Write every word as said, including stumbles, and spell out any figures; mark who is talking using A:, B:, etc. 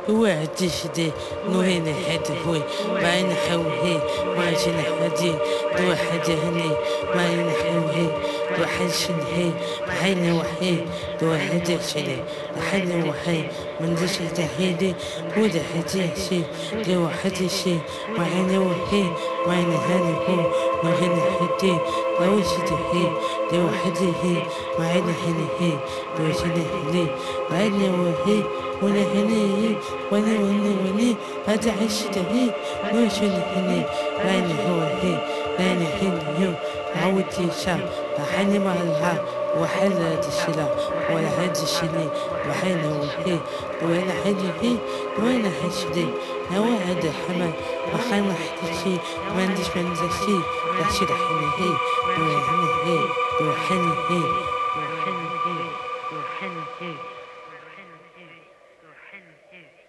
A: هو تشدي نوين حد هوي ما ينحوهي ما جنحدي دو حد هني ما ينحوهي دو حنشن هي حين وحي دو حد شلي حين وحي من دش تحيدي ودا حتي شي دو حتي شي ما عين وحي ما ينهني هو ما هن حدي لو شتي دو حدي هي ما عين هني هي دو شني هني ما عين وحي ولا هني وني وني وني هذا عشت هي وش هني راني هو هي راني هني هو عودتي شام حني مالها وحل هذا الشلا ولا هذا الشلي وحين هو هي وين حدي هي وين حشدي هو هذا حمل وحين حدي ما عنديش ما عنديش شيء رح حني هي وين هي وحني هي وحني هي وحني هي وحني هي